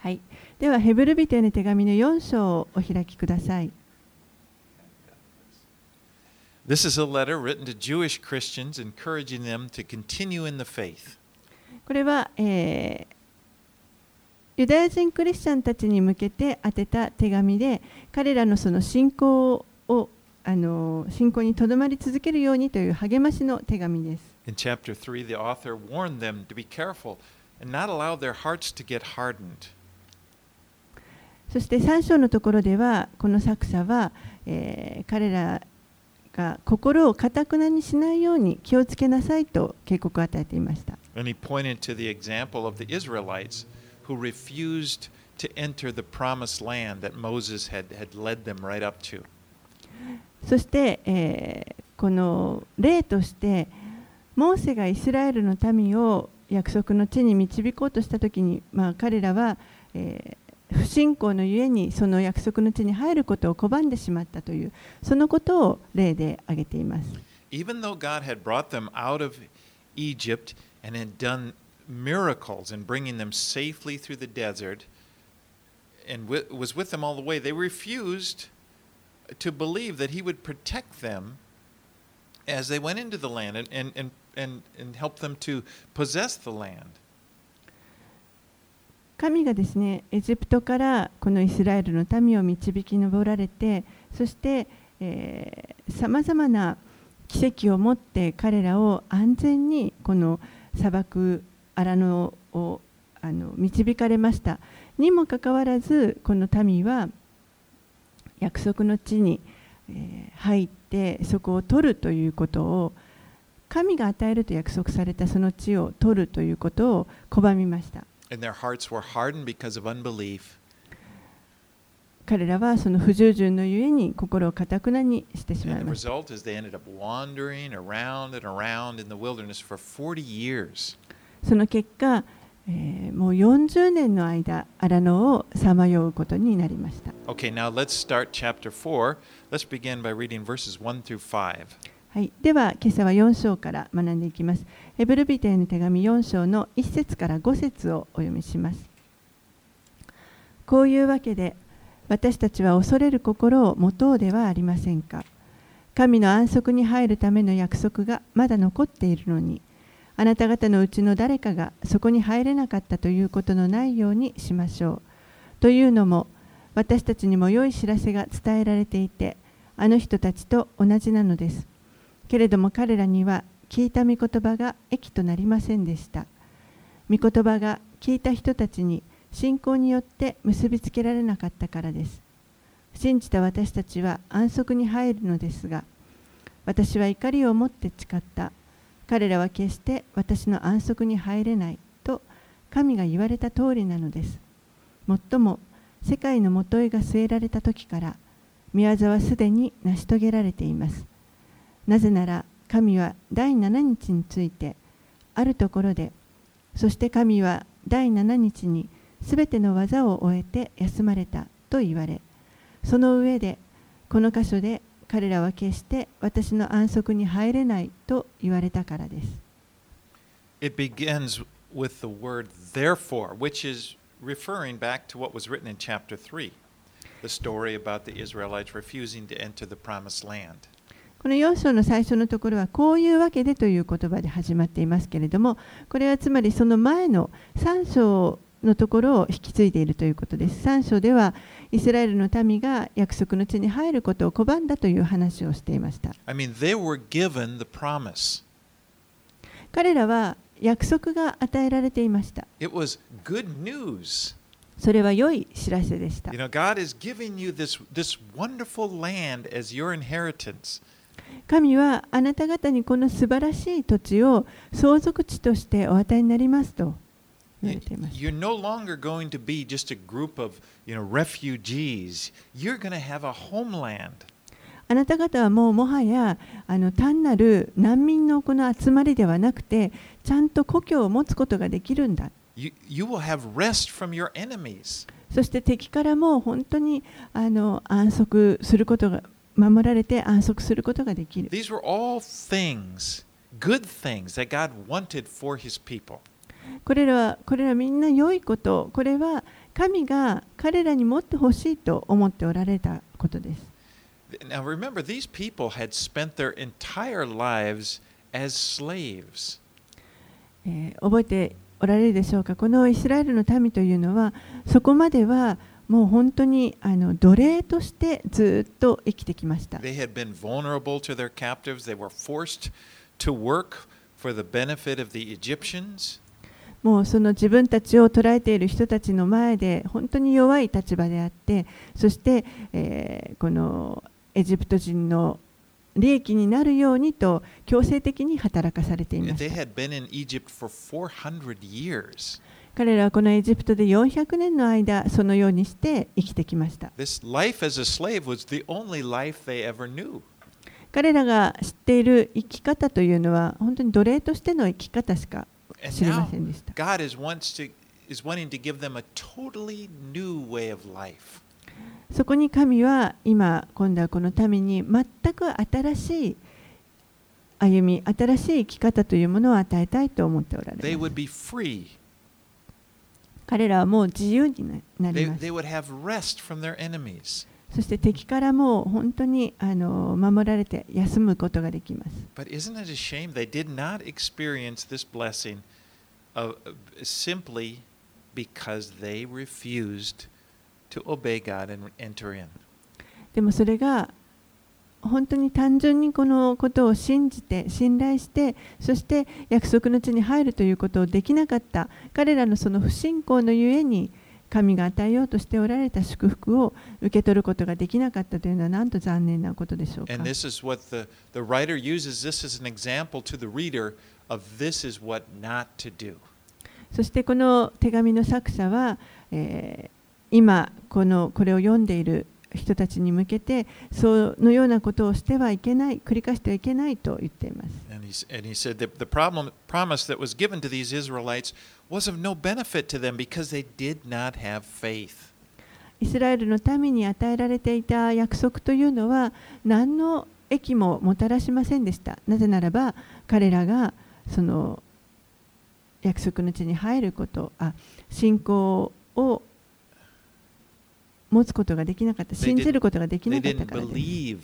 はい。ではヘブル人への手紙の4章をお開きください。 This is a letter written to Jewish Christians, encouraging them to continue in the faith. これは、ユダヤ人クリスチャンたちに向けて宛てた手紙で、彼らのその信仰にとどまり続けるようにという励ましの手紙です。 In chapter 3, the author warned them to be careful and not allow their hearts to get hardened. そして3章のところでは、この作者は、彼らが心を堅くなにしないように気をつけなさいと警告を与えていました。 And he pointed to the example of the Israelites who refused to enter the promised land that Moses had led them right up to. そして、この例として、モーセがイスラエルの民を約束の地に導こうとしたときに、彼らは、不信仰のゆえにその約束の地に入ることを拒んでしまったという、そのことを例で挙げています。 Even though God had brought them out of Egypt and had done miracles in bringing them safely through the desert and was with them all the way, they refused to believe that He would protect them as they went into the land and help them to possess the land. 神がですね、エジプトからこのイスラエルの民を導き上られて、そしてさまざまな奇跡をもって彼らを安全にこの砂漠アラノを導かれました。にもかかわらず、この民は約束の地に入ってそこを取るということを、神が与えると約束されたその地を取るということを拒みました。 And their hearts were hardened because of unbelief. 彼らはその不従順のゆえに心を堅くなにしてしまい And the ました。 result is they ended up wandering around and around in the wilderness for 40 years. その結果、もう40年の間、アラノをさまようことになりました。 Okay, now let's start chapter 4. Let's begin by reading verses 1 through 5. はい、では今朝は4章から学んでいきます。ヘブル人への手紙4章の1節から5節をお読みします。こういうわけで、私たちは恐れる心を持とうではありませんか。神の安息に入るための約束がまだ残っているのに、あなた方のうちの誰かがそこに入れなかったということのないようにしましょう。というのも、私たちにも良い知らせが伝えられていて、あの人たちと同じなのです。けれども彼らには聞いた御言葉が益となりませんでした。御言葉が聞いた人たちに信仰によって結びつけられなかったからです。信じた私たちは安息に入るのですが、私は怒りを持って誓った。彼らは決して私の安息に入れないと神が言われた通りなのです。もっとも世界のもといが据えられた時から御業はすでに成し遂げられています。なぜなら神は第7日についてあるところで、そして神は第7日にすべての技を終えて休まれたと言われ、その上でこの箇所で彼らは決して私の安息に入れないと言われたからです。 It begins with the word therefore, which is referring back to what was written in chapter 3, the story about the Israelites refusing to enter the promised land. この4章の最初のところはこういうわけでという言葉で始まっていますけれども、これはつまりその前の3章のところを引き継いでいるということです。3章ではイスラエルの民が約束の地に入ることを拒んだという話をしていました。 I mean, they were given the promise. 彼らは約束が与えられていました。 It was good news. それは良い知らせでした。 You know, God is giving you this wonderful land as your inheritance. 神はあなた方にこの素晴らしい土地を相続地としてお与えになりますと言われています。 You're no longer going to be just a group of, refugees. You're going to have a homeland. あなた方はもはや単なる難民のこの集まりではなくて、ちゃんと故郷を持つことができるんだ。 You will have rest from your enemies. そして敵からも本当に安息することが守られて安息することができる。 These were all things, good things that God wanted for His people. これらみんな良いこと、これは神が彼らに持ってほしいと思っておられたことです。 Now remember, these people had spent their entire lives as slaves. 覚えておられるでしょうか。このイスラエルの民というのは、そこまではもう本当に奴隷としてずっと生きてきました。 They had been vulnerable to their captives. They were forced to work for the benefit of the Egyptians. もうその自分たちを捕らえている人たちの前で本当に弱い立場であって、そして、このエジプト人の利益になるようにと強制的に働かされていまし They た。 had been in Egypt for 400 years. 彼らはこのエジプトで400年の間そのようにして生きてきました。 This life as a slave was the only life they ever knew. 彼らが知っている生き方というのは本当に奴隷としての生き方しか And 知りま now せんでした。 God is wanting to give them a totally new way of life. そこに神は今度はこの民に全く新しい歩み、新しい生き方というものを与えたいと思っておられ They ます。 would be free. 彼らはもう自由になり They, ます。 they would have rest from their enemies. そして敵からも本当に守られて休むことができます。 But isn't it a shame they did not experience this blessing simply because they refused to obey God and enter in? でもそれが本当に単純にこのことを信じて信頼して、そして約束の地に入るということをできなかった彼らのその不信仰のゆえに、神が与えようとしておられた祝福を受け取ることができなかったというのはなんと残念なことでしょうか。 And this is what the writer uses this as an example to the reader of this is what not to do. そしてこの手紙の作者は、今これを読んでいる人たちに向けてそのようなことをしてはいけない、繰り返してはいけないと言っています。 And he said that the promise that was given to these Israelites was of no benefit to them because they did not have faith. イスラエルの民に与えられていた約束というのは何の益ももたらしませんでした。なぜならば彼らがその約束の地に入ること、信仰を持つことができなかった、信じることができな They かった didn't からです。 believe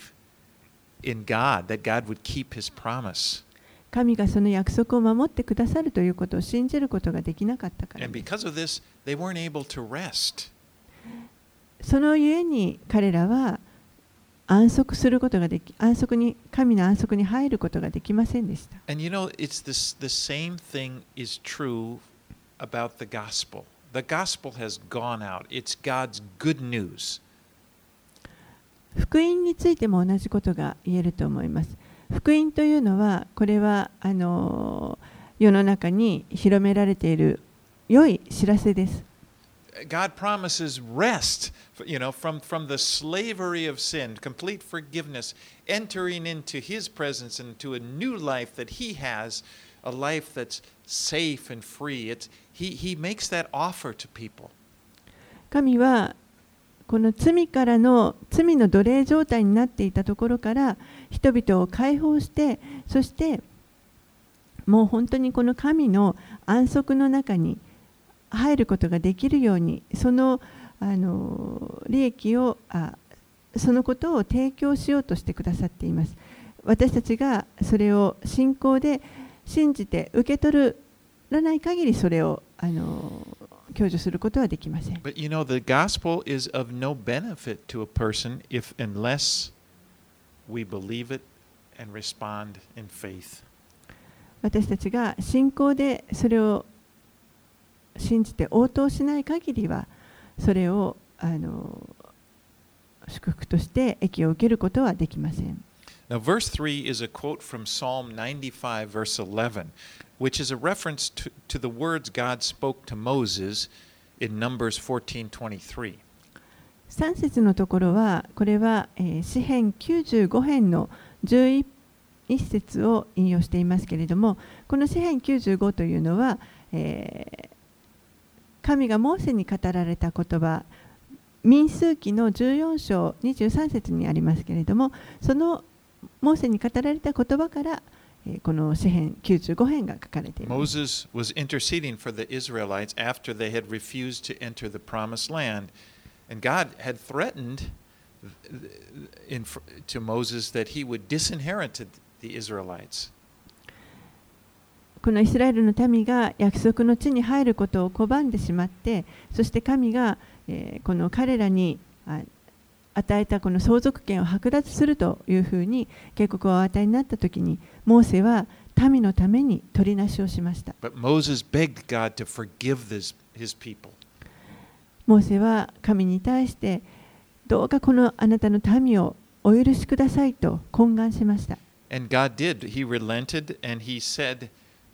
in God, that God would keep his promise. 神がその約束を守ってくださるということを信じることができなかったから And です。 because of this, they weren't able to rest. そのゆえに彼らは安息することができ、神の安息に入ることができませんでした。 And you know, the same thing is true about the gospel. The gospel has gone out. It's God's good news. 福音についても同じことが言えると思います。福音というのは、これは世の中に広められている良い知らせです。 God promises rest, from the slavery of sin, complete forgiveness, entering into his presence and to a new life that he has, a life that's safe and free. He makes that offer to people. 神はこの罪の奴隷状態になっていたところから人々を解放して、そしてもう本当にこの神の安息の中に入ることができるように、その利益をそのことを提供しようとしてくださっています。私たちがそれを信仰で信じて受け取らない限りそれを享受することはできません。 But the gospel is of no benefit to a person unless we believe it and respond in faith. 私たちが信仰でそれを信じて応答しない限りは、それを祝福として益を受けることはできません。 Now, verse 3 is a quote from Psalm 95, verse 11, which is a reference to the words God spoke to Moses in Numbers 14:23. 3節のところは、これは詩編95編の11節を引用していますけれども、この詩編95というのは、神がモーセに語られた言葉、民数記の14章23節にありますけれども、そのモーセに語られた言葉からこの詩編95編が書かれています。 Moses was interceding for the Israelites after they had refused to enter the promised land. And God had threatened to Moses that he would disinherit the Israelites. このイスラエルの民が約束の地に入ることを拒んでしまって、そして神がこの彼らに与えたこの相続権を剥奪するというふうに警告をお与えになったときに、モーセは民のために取りなしをしました。 But Moses begged God to forgive his people. モーセは神に対して、どうかこのあなたの民をお許しくださいと懇願しました。 And God did. He relented and he said,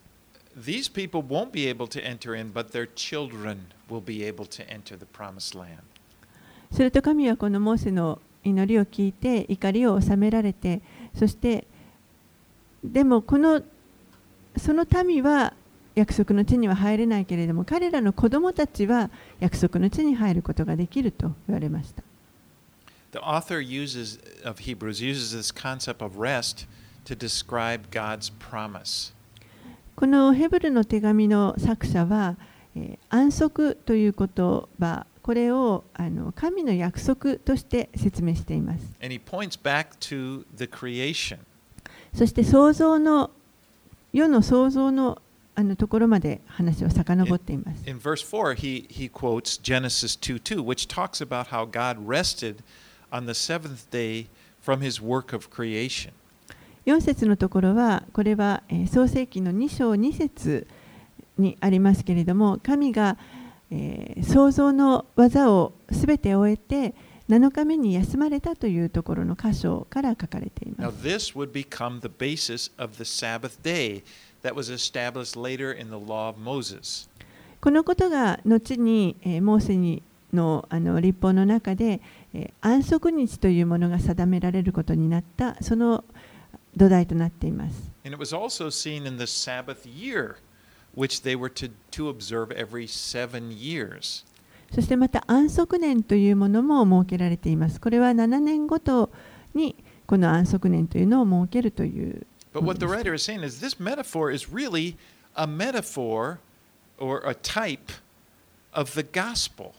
These people won't be able to enter in, but their children will be able to enter the promised land. すると神はこのモーセの祈りを聞いて怒りを収められて、そしてでもその民は約束の地には入れないけれども、彼らの子供たちは約束の地に入ることができると言われました。 The author of Hebrews uses this concept of rest to describe God's promise. このヘブルの手紙の作者は、安息という言葉、これを神の約束として説明しています。 And he points back to the creation. そして世の創造のところまで話を遡っています。 In verse 4, he quotes Genesis 2:2, which talks about how God rested on the seventh day from his work of creation. 4節のところは、これは創世記の2章2節にありますけれども、神が創造の技をすべて終えて7日目に休まれたというところの箇所から書かれていま Now す。 this would become the basis of the Sabbath day that was established later in the law of Moses. このことが後にモーセの律法の中で安息日というものが定められることになったその土台となっています。 And it was also seen in the Sabbath year, which they were to observe every 7 years. そしてまた安息年というものも設けられています。これは7年ごとにこの安息年というのを設けるというも But の what the です。 writer is saying is this metaphor is really a metaphor or a type of the gospel.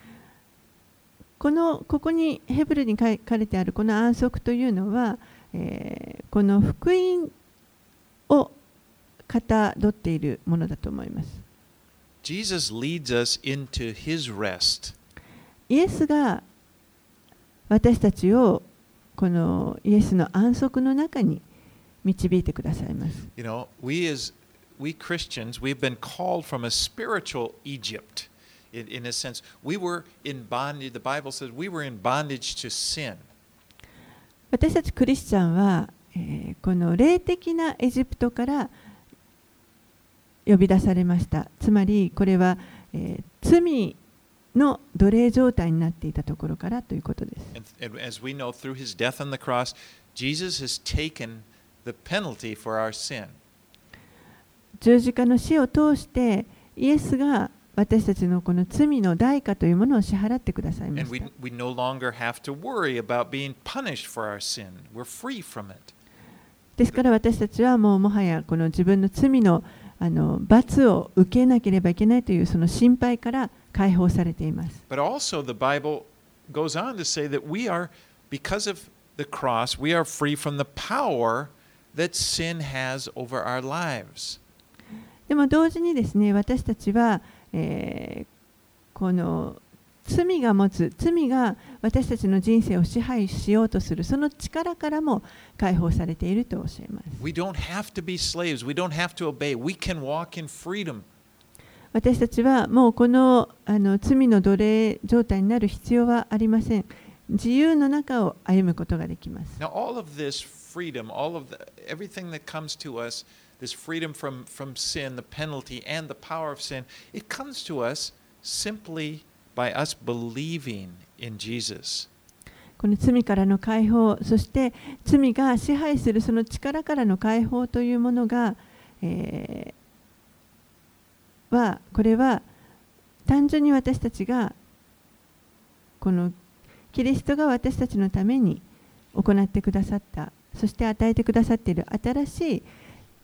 ここにヘブルに書かれてあるこの安息というのは、この福音をかたどっているものだと思います。 Jesus leads us into his rest. イエスが私たちをこのイエスの安息の中に導いてくださいます。 You know, we Christians, we've been called from a spiritual Egypt. In a sense, we were in bondage. The Bible says we were in bondage to sin. 私たちクリスチャンは、この霊的なエジプトから呼び出されました。つまりこれは、罪の奴隷状態になっていたところからということです。 And as we know, through his death on the cross, Jesus has taken the penalty for our sin. 十字架の死を通してイエスが私たちのこの罪の代価というものを支払ってくださいま And した。 we no longer have to worry about being punished for our sin. We're free from it. ですから私たちはもはやこの自分の罪の罰を受けなければいけないというその心配から解放されています。 But also, the Bible goes on to say that we are, because of the cross, we are free from the power that sin has over our lives. でも同時にですね、私たちは、この罪が私たちの人生を支配しようとするその力からも解放されているとおっしゃいます。 We don't have to be slaves. We don't have to obey. We can walk in freedom. 私たちはもうこの罪の奴隷状態になる必要はありません。自由の中を歩むことができます。 Now, all of this freedom, everything that comes to us, this freedom from sin, the penalty, and the power of sin, it comes to us simply by us believing in Jesus. この罪からの解放、そして罪が支配するその力からの解放というものが、これは単純に私たちがこのキリストが私たちのために行ってくださった、そして与えてくださっている新しい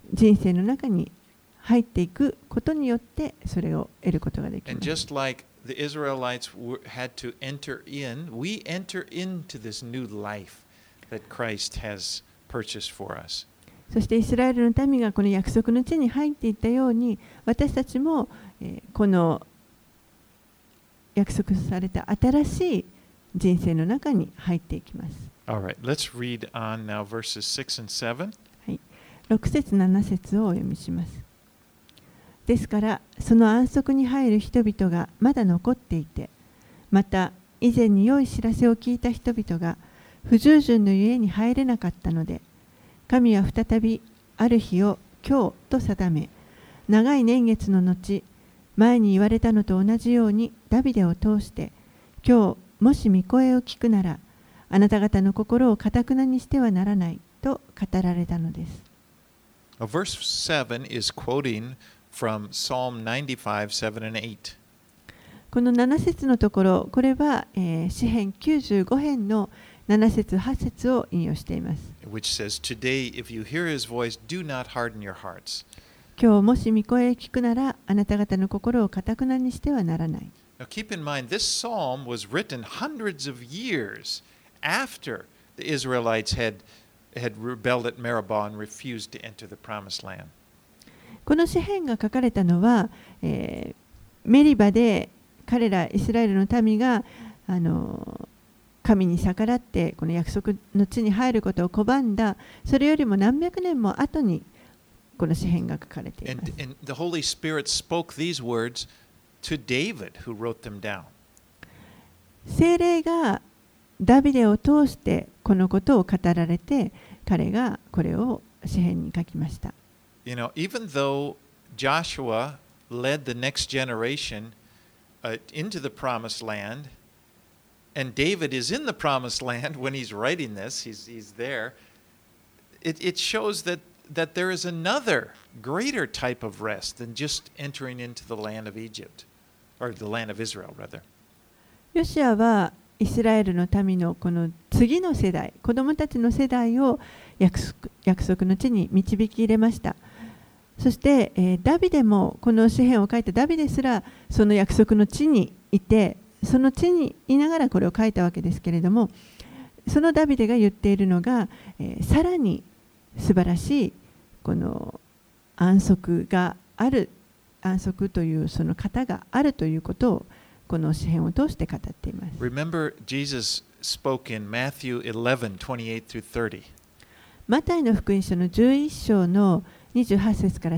人生の中に入っていくことによってそれを得ることができ And ます。 just like the Israelites had to enter in, we enter into this new life that Christ has purchased for us. そしてイスラエルの民がこの約束の地に入っていったように、私たちもこの約束された新しい人生の中に入っていきます。 All right, let's read on now verses 6 and 7. はい、6節7節をお読みします。ですからその安息に入る人々がまだ残っていて、また以前に良い知らせを聞いた人々が不従順のゆえに入れなかったので、神は再びある日を今日と定め、長い年月の後、前に言われたのと同じようにダビデを通して、今日もし御声を聞くなら、あなた方の心を堅なにしてはならないと語られたのです。 Verse 7 is quoting from Psalm 95, 7 and 8. この7節のところ、これは、詩編95編の7節8節を引用しています。 Which says, Today, if you hear his voice, do not harden your hearts. 今日もし御声を聞くなら、あなた方の心を堅なにしてはならない。 Now keep in mind, this psalm was written hundreds of years after the Israelites had rebelled at Meribah and refused to enter the promised land. この詩編が書かれたのは、メリバで彼らイスラエルの民が神に逆らってこの約束の地に入ることを拒んだ、それよりも何百年も後にこの詩編が書かれています。 And the Holy Spirit spoke these words to David, who wrote them down. 聖霊がダビデを通してこのことを語られて、彼がこれを詩編に書きました。 You know, even though Joshua led the next generation into the promised land, and David is in the promised land when he's writing this, he's there, it shows that there is another greater type of rest than just entering into the land of Egypt, or the land of Israel, rather. ヨシアはイスラエルの民のこの次の世代、子供たちの世代を約束の地に導き入れました。そして、ダビデもこの詩編を書いたダビデすらその約束の地にいて、その地にいながらこれを書いたわけですけれども、そのダビデが言っているのが、さらに素晴らしいこの安息がある、安息というその方があるということをこの詩編を通して語っています。 Remember, Jesus spoke in Matthew 11, 28 through 30. マタイの福音書の11章の28節から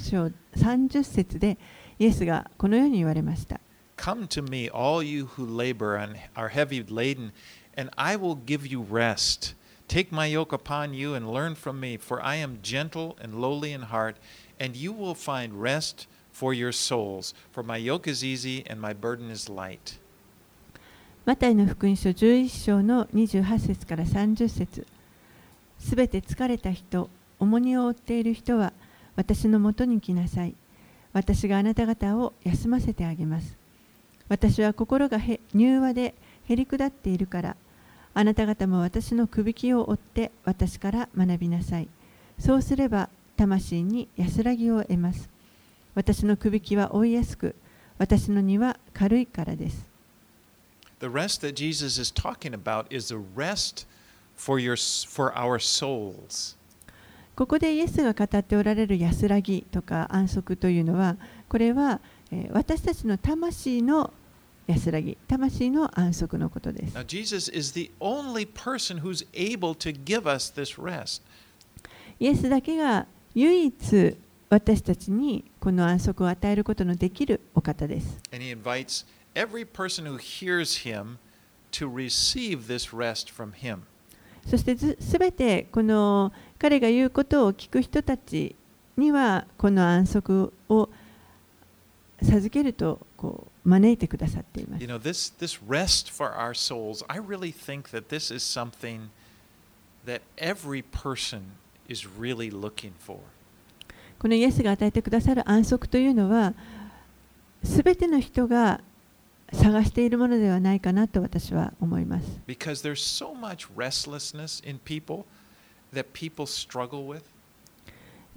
30節でイエスがこのように言われました。 Come to me, all you who labor and are heavy laden, and I will give you rest. Take my yoke upon you and learn from me, for I am gentle and lowly in heart, and you will find rest for your souls. For my yoke is easy and my burden is light. マタイの福音書11章の28節から30節。すべて疲れた人、重荷を負っている人は私のもとに来なさい。私があなた方を休ませてあげます。私は心が柔和でへりくだっているから、あなた方も私のくびきを追って私から学びなさい。そうすれば魂に安らぎを得ます。私のくびきは追いやすく、私の荷は軽いからです。 The rest that Jesus is talking about is a rest for our souls. ここでイエスが語っておられる安らぎとか安息というのは、これは私たちの魂の安らぎ、魂の安息のことです。 Now, Jesus is the only person who's able to give us this rest. イエスだけが唯一私たちにこの安息を与えることのできるお方です。 And he invites every person who hears him to receive this rest from him. そしてすべてこの彼が言うことを聞く人たちにはこの安息を授けると招いてくださっています。 You know, this rest for our souls, I really think that this is something that every person is really looking for. このイエスが与えてくださる安息というのは、すべての人が探しているものではないかなと私は思います。 Because there's so much restlessness in people that people struggle with.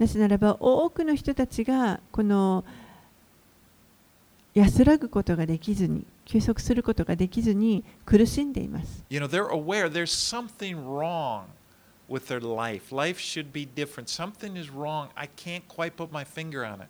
なぜならば多くの人たちがこの安らぐことができずに、休息することができずに苦しんでいます。 You know, they're aware there's something wrong with their life. Life should be different. Something is wrong. I can't quite put my finger on it.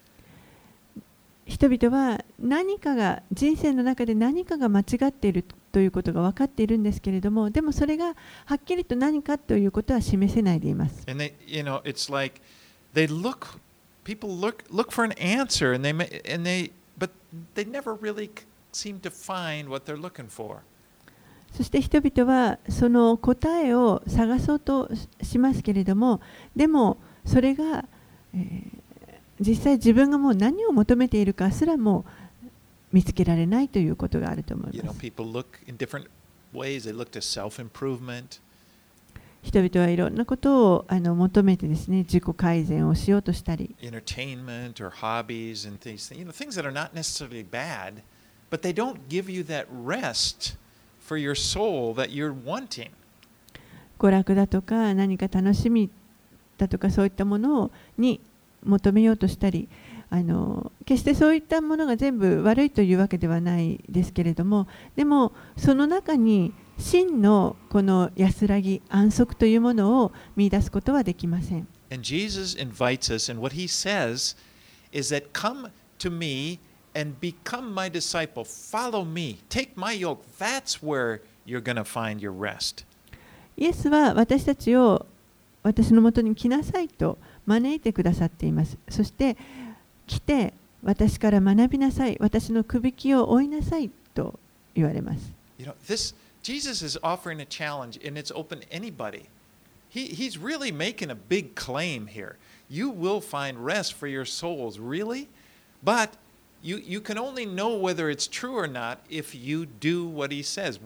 人々は何かが人生の中で何かが間違っているということが分かっているんですけれども、でもそれがはっきりと何かということは示せないでいます。 And they, you know, it's like people look for an answer, but they never really seem to find what they're looking for. そして人々はその答えを探そうとしますけれども、でもそれが、実際自分がもう何を求めているかすらも見つけられないということがあると思い You ま know, す。 people look in different ways. They look to self-improvement. 人々はいろんなことを求めてですね、自己改善をしようとしたり、 Entertainment or hobbies and things, you know, things that are not necessarily bad, but they don't give you that rest for your soul that you're wanting. 娯楽だとか何か楽しみだとかそういったものに求めようとしたり、決してそういったものが全部悪いというわけではないですけれども、でもその中に真のこの安らぎ、安息というものを見出すことはできません。 And Jesus invites us, and what he says is that come to me and become my disciple. Follow me. Take my yoke. That's where you're going to find your rest. イエスは私たちを私のもとに来なさいと招いてくださっています。そして来て私から学びなさい、私のくびきを追いなさいと言われます。 You know, Jesus is offering a challenge, and it's open to anybody. He's really making a big claim here. You will find rest for your souls, really? But you can only know whether it's true or not if you do what he says.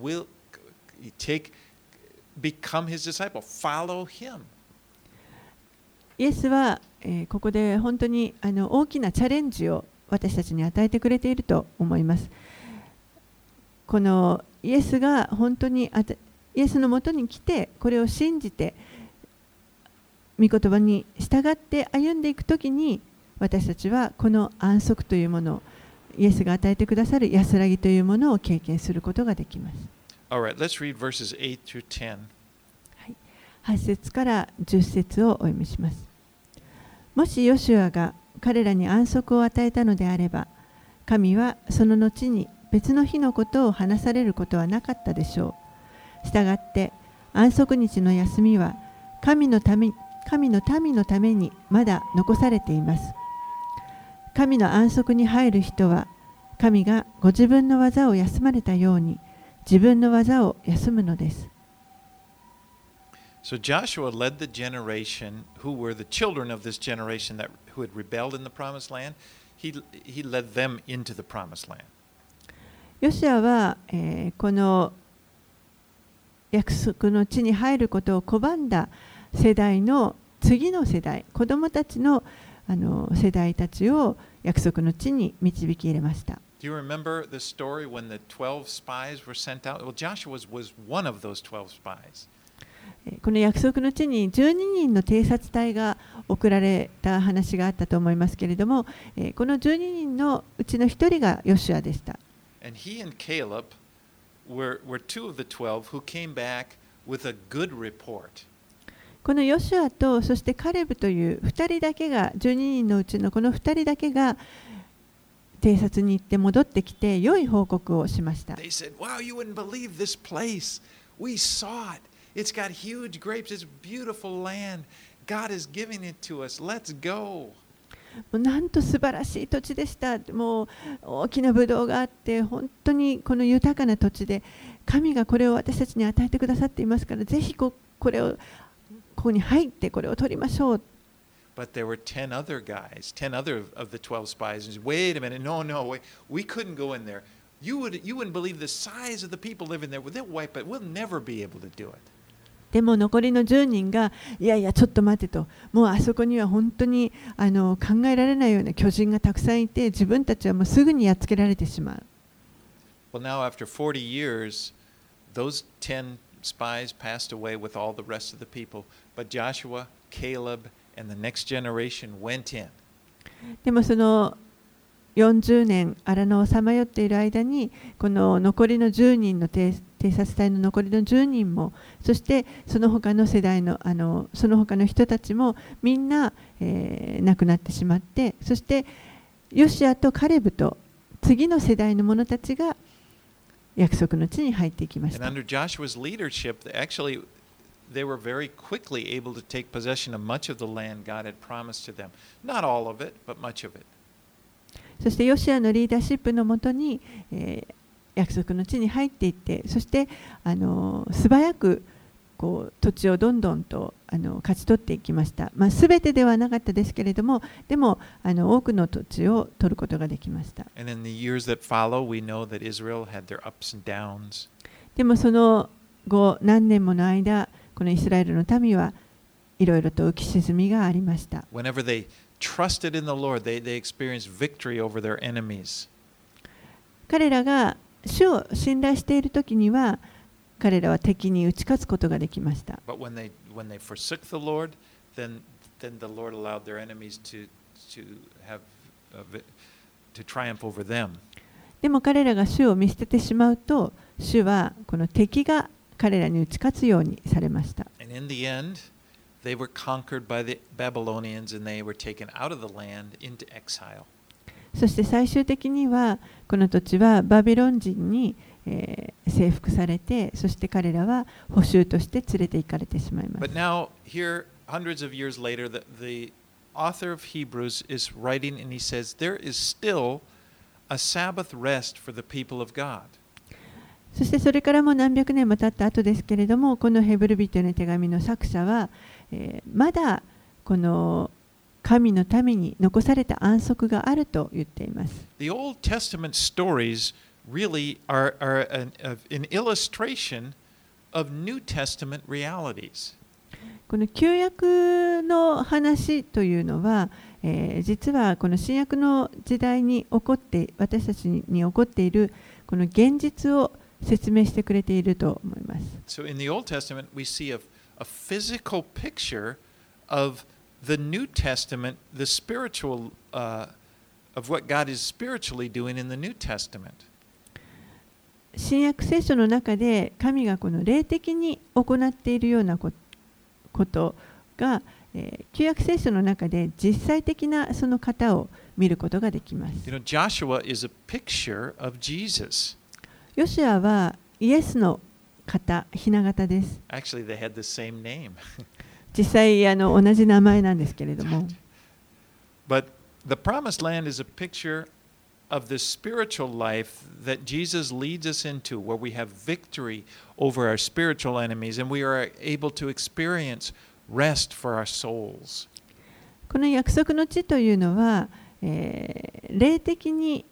Become his disciple. Follow him. イエスは、ここで本当に大きなチャレンジを私たちに与えてくれていると思います。このイエスが本当にイエスのもとに来てこれを信じて御言葉に従って歩んでいくときに、私たちはこの安息というものを、イエスが与えてくださる安らぎというものを経験することができます。 Alright, let's read verses 8 through 10. 8節から10節をお読みします。もしヨシュアが彼らに安息を与えたのであれば、神はその後に別の日のことを話されることはなかったでしょう。したがって安息日の休みは神の民のためにまだ残されています。神の安息に入る人は、神がご自分の技を休まれたように自分の技を休むのです。 So Joshua led the generation who were the children of this generation who had rebelled in the promised land. He led them into the promised land. ヨシュアは、この約束の地に入ることを拒んだ世代の次の世代、子供たちの世代たちを約束の地に導き入れました。 Do you remember the story when the 12 spies were sent out? Well, Joshua was one of those 12 spies. この約束の地に12人の偵察隊が送られた話があったと思いますけれども、この12人のうちの1人がヨシュアでした。 And he and Caleb were two of the 12 who came back with a good report. このヨシュアとそしてカレブという2人だけが、12人のうちのこの2人だけが偵察に行って戻ってきて良い報告をしました。 They said, "Wow, you wouldn't believe this place. We saw it. It's got huge grapes. It's beautiful land. God is giving it to us. Let's go." もうなんと素晴らしい土地でした。もう大きなブドウがあって、本当にこの豊かな土地で、神がこれを私たちに与えてくださっていますから、ぜひこれをここに入ってこれを取りましょう。 But there were 10 other guys, 10 other of the 12 spies. And said, "Wait a minute. No, wait. We couldn't go in there. You wouldn't believe the size of the people living there. They'll wipe it. We'll never be able to do it." でも残りの10人が、いやいやちょっと待てと、もうあそこには本当に考えられないような巨人がたくさんいて、自分たちはもうすぐにやっつけられてしまう。 Well, now after 40 years, those 10 spies passed away with all the rest of the people. But Joshua, Caleb, and the next generation went in. でもその40年荒野をさまよっている間にこの残りの10人の偵察隊の残りの10人もそしてその他の世代のその他の人たちもみんな、亡くなってしまってそしてヨシアとカレブと次の世代の者たちが約束の地に入っていきました。 And under Joshua's leadership, actually, they were very quickly able to take possession of much of the land God had promised to them. Not all of it, but much of it. そしてヨシアのリーダーシップのもとに、約束の地に入っていってそして素早くこう土地をどんどんと勝ち取っていきました。すべてではなかったですけれどもでも多くの土地を取ることができました。 And in the years that follow, we know that Israel had their ups and downs. でもその後何年もの間このイスラエルの民はいろいろと浮き沈みがありました。 Whenever they trusted in the Lord, they experienced victory over their enemies. 彼らが主を信頼しているときには彼らは敵に打ち勝つことができました。 But when they forsook the Lord, then the Lord allowed their enemies to triumph over them. でも彼らが主を見捨ててしまうと主はこの敵が彼らに打ち勝つようにされました。 And in the end, they were conquered by the Babylonians and they were taken out of the land into exile. そして最終的にはこの土地はバビロン人に、征服されてそして彼らは捕囚として連れて行かれてしまいます。 But now, here, hundreds of years later, the author of Hebrews is writing and he says, there is still a Sabbath rest for the people of God. そしてそれからも何百年も経った後ですけれどもこのヘブル人への手紙の作者は、まだこの神のために残された安息があると言っています。 The Old Testament stories really are an illustration of New Testament realities. この旧約の話というのは、実はこの新約の時代に起こって私たちに起こっているこの現実を説明してくれていると思います。 So in the Old Testament, we see a physical picture of the New Testament, the spiritual, of what God is spiritually doing in the New Testament. 新約聖書の中で神がこの霊的に行っているようなことが、旧約聖書の中で実際的なその方を見ることができます。 You know, Joshua is a picture of Jesus. ヨシュアはイエスの方、雛形です。 Actually, they had the same name. 実際同じ名前なんですけれども。 But the promised land is a picture of the spiritual life that Jesus leads us into, where we have victory over our spiritual enemies and we are able to experience rest for our souls. この約束の地というのは、霊的に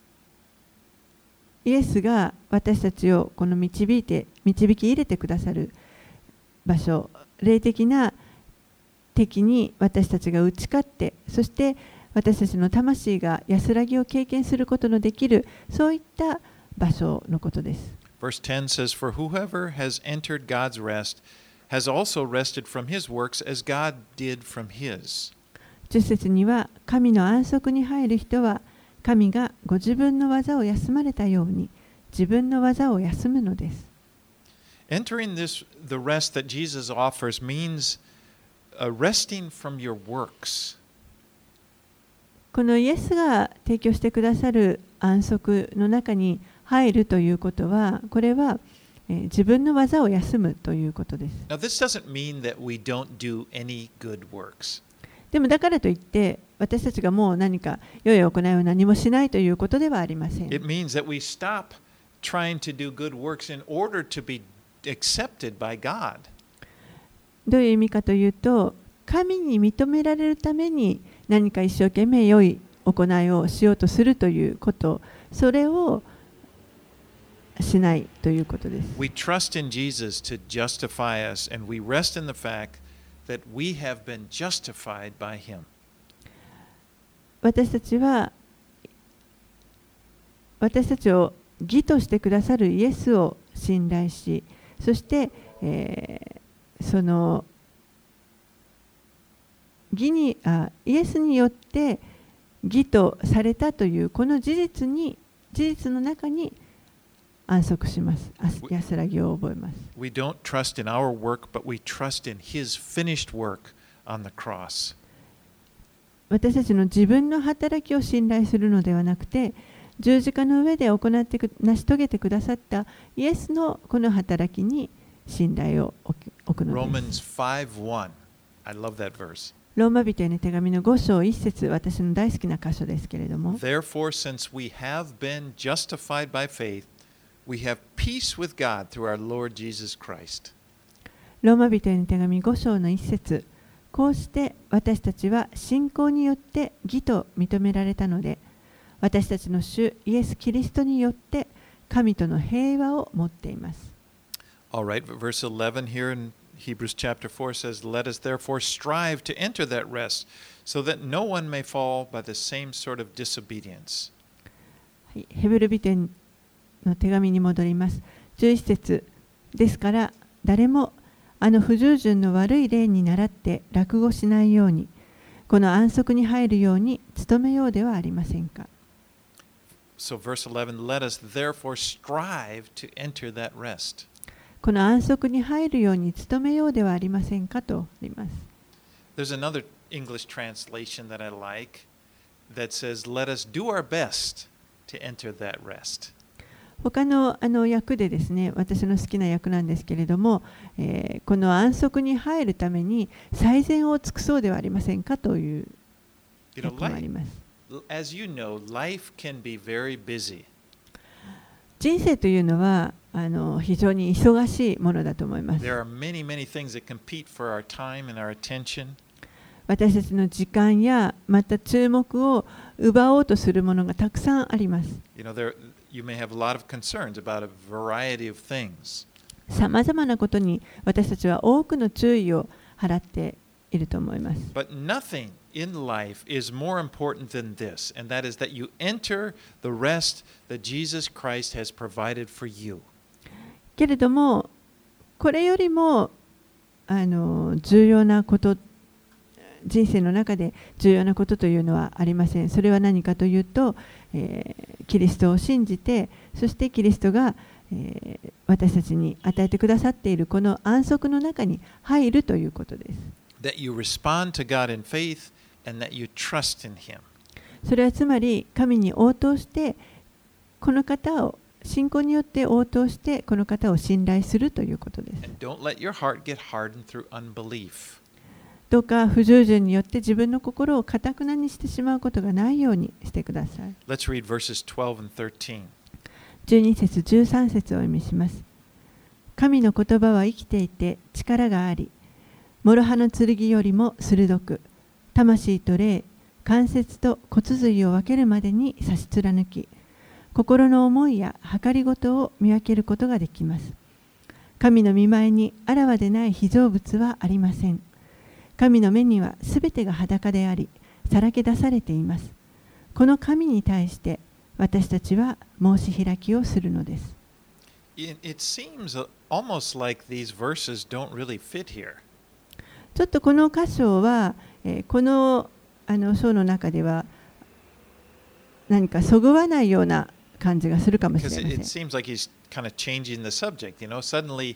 イエスが私たちをこの導き入れてくださる場所、霊的な敵に私たちが打ち勝って、そして私たちの魂が安らぎを経験することのできる、そういった場所のことです。 Verse 10 says, For whoever has entered God's rest has also rested from his works as God did from his. 10節には、神の安息に入る人は、神がご自分の技を休まれたように、自分の技を休むのです。 Entering the rest that Jesus offers means resting from your works. このイエスが提供してくださる安息の中に入るということは、これは、自分の技を休むということです。 Now, this doesn't mean that we don't do any good works. でもだからといって私たちがもう何か良い行いを何もしないということではありません。 It means that we stop trying to do good works in order to be accepted by God. どういう意味かというと、神に認められるために何か一生懸命良い行いをしようとするということ、それをしないということです。 We trust in Jesus to justify us, and we rest in the fact that we have been justified by Him. 私たちを義としてくださるイエスを信頼し、そして、そのイエスによって義とされたというこの事実の中に安息します。安らぎを覚えます。 We don't trust in our work, but we trust in His finished work on the cross. 私たちの自分の働きを信頼するのではなくて、十字架の上で成し遂げてくださったイエスのこの働きに信頼を置くのです。 Romans 5:1. I love that verse. ローマ人への手紙の5章1節、私の大好きな箇所ですけれども。 Therefore, since we have been justified by faith, we have peace with God through our Lord Jesus Christ. ローマ人への手紙5章の1節、こうして私たちは信仰によって義と認められたので、私たちの主イエス・キリストによって神との平和を持っています。 All right, verse 11 here in Hebrews chapter 4 says, Let us therefore strive to enter that rest, so that no one may fall by the same sort of disobedience. ヘブル人への手紙に戻ります。11節ですから、誰も不従順の悪い例に倣って落語しないように、この安息に入るように努めようではありませんか。 So verse 11, Let us therefore strive to enter that rest. この安息に入るように努めようではありませんかとあります。 There's another English translation that I like that says, Let us do our best to enter that rest. 他の訳でですね、私の好きな訳なんですけれども、この安息に入るために最善を尽くそうではありませんかという訳もあります。 As you know, life can be very busy. 人生というのは非常に忙しいものだと思います。 There are many, many things that compete for our time and our attention. 私たちの時間やまた注目を奪おうとするものがたくさんあります。 You may have a lot of concerns about a variety of things. さまざまなことに私たちは多くの注意を払っていると思います。 But nothing in life is more important than this, and that is that you enter the rest that Jesus Christ has provided for you. けれども、これよりも重要なこと、人生の中で重要なことというのはありません。それは何かというと、キリストを信じて、そしてキリストが、私たちに与えてくださっているこの安息の中に入るということです。 That you respond to God in faith and that you trust in Him. それはつまり神に応答して、この方を信仰によって応答してこの方を信頼するということです。 And don't let your heart get hardened through unbelief. どうか不従順によって自分の心を堅くなにしてしまうことがないようにしてください。 Let's read verses 12 and 13. 12節13節をお読みします。神の言葉は生きていて力があり、諸刃の剣よりも鋭く、魂と霊、関節と骨髄を分けるまでに差し貫き、心の思いや計りごとを見分けることができます。神の御前にあらわでない被造物はありません。神の目にはすべてが裸であり、さらけ出されています。この神に対して私たちは申し開きをするのです。 It seems almost like these verses don't really fit here. ちょっとこの箇所は、この章の中では何かそぐわないような感じがするかもしれません。 It seems like he's kind of changing the subject. Suddenly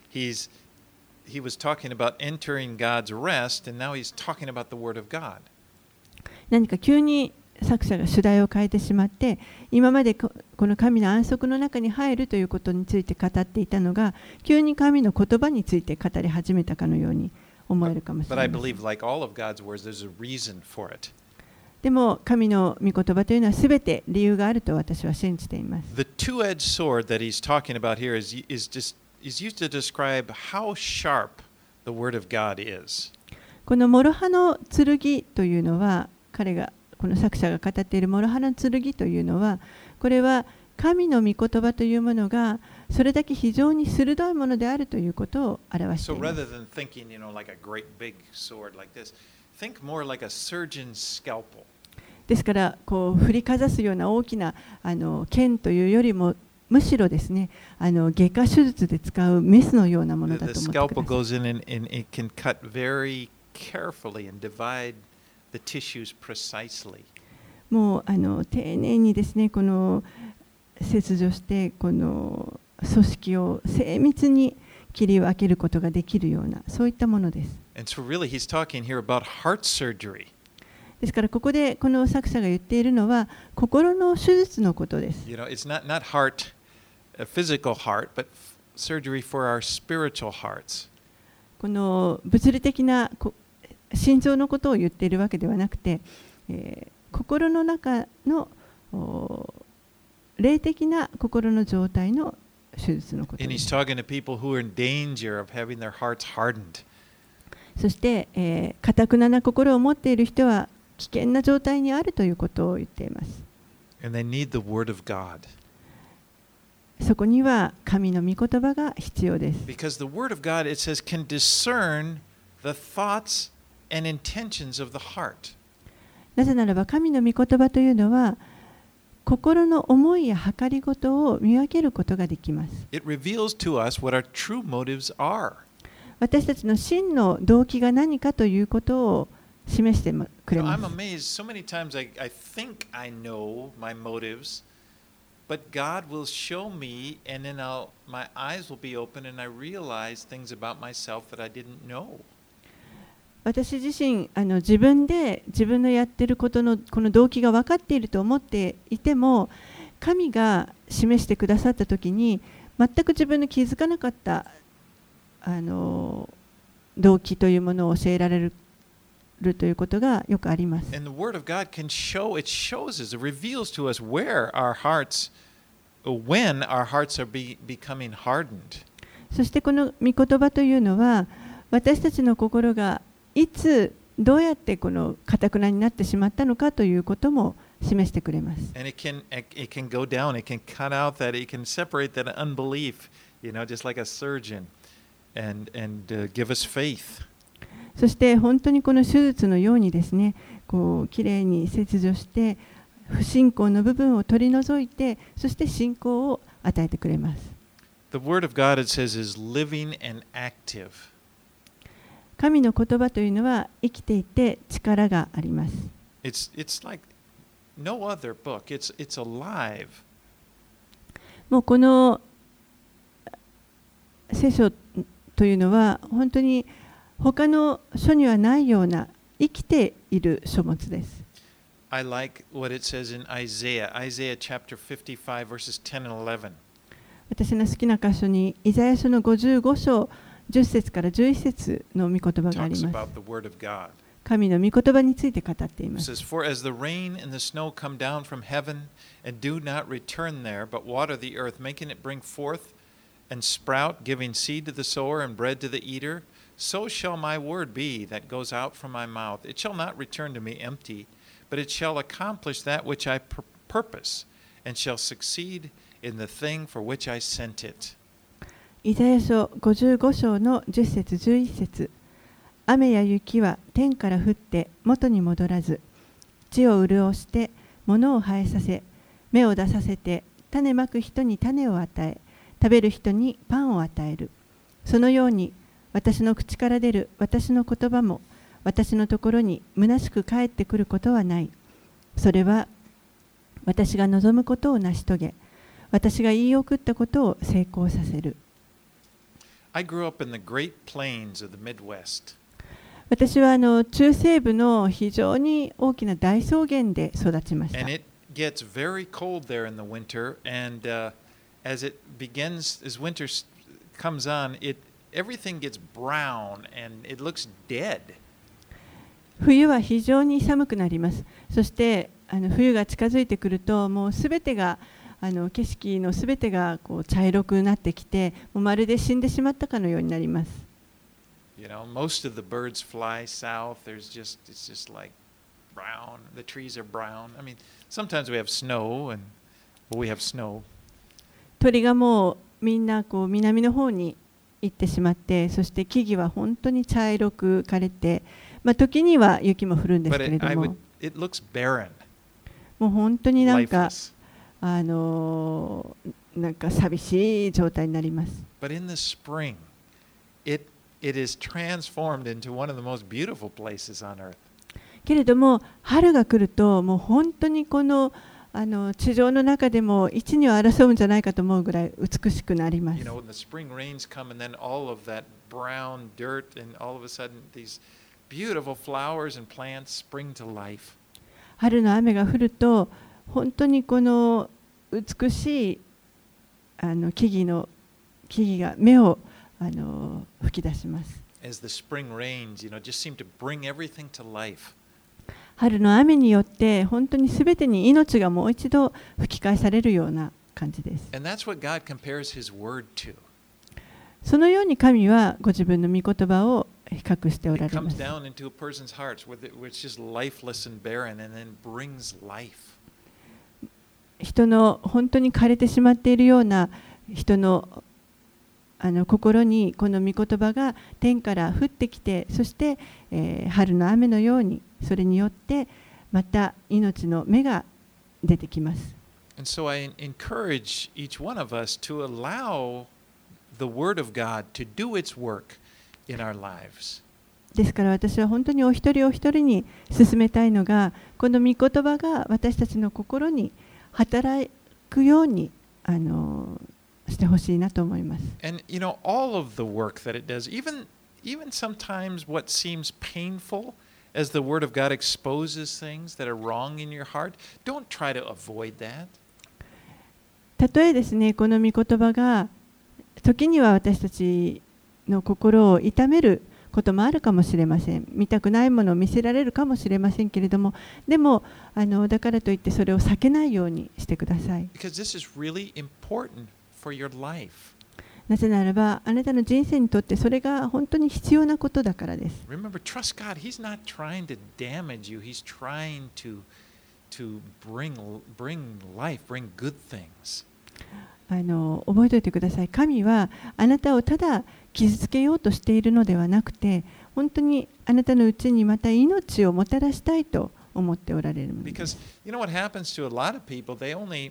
he was talking about entering God's rest, and now he's talking about the Word of God. 何か急に作者が主題を変えてしまって、今までこの神の安息の中に入るということについて語っていたのが、急に神の言葉について語り始めたかのように思えるかもしれません。 But I believe, like all of God's words, there's a reason for it. でも神の御言葉というのはすべて理由があると私は信じています。 The two-edged sword that he's talking about here is used to describe how sharp the Word of God is. この諸刃の剣というのは、この作者が語っている諸刃の剣というのは、これは神の御言葉というものがそれだけ非常に鋭いものであるということを表しています。 So rather than thinking, like a great big sword like this, think more like a surgeon's scalpel. ですから振りかざすような大きな剣というよりも、むしろですね、外科手術で使うメスのようなものだと思ってください。 The scalpel goes in and it can cut very carefully and divide the tissues precisely. もう丁寧にですね、この切除してこの組織を精密に切り分けることができるような、そういったものです。 And so really he's talking here about heart surgery. ですからここでこの作者が言っているのは心の手術のことです。 You know, it's not heart, a physical heart, but surgery for our spiritual hearts. この物理的な心臓のことを言っているわけではなくて、心の中の霊的な心の状態の手術のこと And で he's す。 talking to people who are in danger of having their hearts hardened. そして、堅くなな心を持っている人は危険な状態にあるということを言っています。 And they need the word of God. そこには神の御言葉が必要です。 Because the word of God, it says, can discern the thoughts and intentions of the heart. なぜならば神の御言葉というのは心の思いや計りごとを見分けることができます。 It reveals to us what our true motives are. 私たちの真の動機が何かということを示してくれ I'm ます。 amazed. So many times I think I know my motives, but God will show me, and then my eyes will be open, and I realize things about myself that I didn't know. 私自身自分で自分のやっていることのこの動機が分かっていると思っていても、神が示してくださったときに全く自分の気づかなかった動機というものを教えられるということがよくあります。 And the Word of God can show, it shows us, it reveals to us where our hearts, when our hearts are becoming hardened. そしてこの御言葉というのは私たちの心がいつどうやってこの堅くなになってしまったのかということも示してくれます。 And it can go down, it can cut out that, it can separate that unbelief, you know, just like a surgeon, and give us faith. そして本当にこの手術のようにですね、こうきれいに切除して不信仰の部分を取り除いて、そして信仰を与えてくれます。 The Word of God, it says, is living and active. 神の言葉というのは生きていて力があります。 It's like no other book. It's alive. もうこの聖書というのは本当に他の書にはないような生きている書物です。 I like what it says in Isaiah chapter 55, verses 10 and 11. 私の好きな箇所にイザヤ書の55章10節から11節の御言葉があり Talks ま about す。 the Word of God. 神の御言葉について語ってい It ます。 says, For as the rain and the snow come down from heaven and do not return there, but water the earth, making it bring forth and sprout, giving seed to the sower and bread to the eater, so shall my word be that goes out from my mouth. It shall not return to me empty, but it shall accomplish that which I purpose, and shall succeed in the thing for which I sent it. イザヤ書55章の10節11節、雨や雪は天から降って元に戻らず、地を潤して物を生えさせ、芽を出させて、種まく人に種を与え、食べる人にパンを与える。そのように私の口から出る私の言葉も私のところに虚しく帰ってくることはない。それは私が望むことを成し遂げ、私が言い送ったことを成功させる。 I grew up in the Great Plains of the Midwest. 私は中西部の非常に大きな大草原で育ちました。 And it gets very cold there in the winter, and as winter comes on, everything gets brown and it looks dead. 冬は非常に寒くなります。そして冬が近づいてくると、もうすべてが景色のすべてがこう茶色くなってきて、もうまるで死んでしまったかのようになります。 You know, most of the birds fly south. It's just like brown. The trees are brown. I mean, sometimes we have snow, but we have snow. 鳥がもうみんなこう南の方に行ってしまって、そして木々は本当に茶色く枯れて、時には雪も降るんですけれども、 it looks barren, もう本当になんか lifeless. なんか寂しい状態になります。 But in the spring, it it is transformed into one of the most beautiful places on earth. けれども春が来るともう本当にこの地上の中でも一二を争うんじゃないかと思うぐらい美しくなります。 You know, when the spring rains come and then all of that brown dirt and all of a sudden these beautiful flowers and plants spring to life. 春の雨が降ると本当にこの美しい木々が芽を吹き出します。 As the spring rains, you know, just seem to bring everything to life. 春の雨によって本当にすべてに命がもう一度吹き返されるような感じです。 And that's what God compares His word to. そのように神はご自分の御言葉を比較しておら It れま comes す。 down into a person's hearts where it's just lifeless and barren and then brings life. 人の本当に枯れてしまっているような人の心にこの御言葉が天から降ってきて、そして、春の雨のようにそれによってまた命の芽が出てきます。 And so I encourage each one of us to allow the Word of God to do its work in our lives. ですから私は本当にお一人お一人に勧めたいのが、この御言葉が私たちの心に働くようにしてほしいなと思います。 And you know, all of the work that it does, even sometimes what seems painful as the Word of God exposes things that are wrong in your heart, don't try to avoid that. たとえですね、この御言葉が時には私たちの心を痛めることもあるかもしれません。見たくないものを見せられるかもしれませんけれども、でもだからといってそれを避けないようにしてください。 Because this is really important for your life. なぜならば、あなたの人生にとってそれが本当に必要なことだからです。 Remember, trust God. He's not trying to damage you. He's trying to bring life, bring good things. 覚えておいてください。神はあなたをただ傷つけようとしているのではなくて、本当にあなたのうちにまた命をもたらしたいと思っておられるのです。 Because you know what happens to a lot of people? They only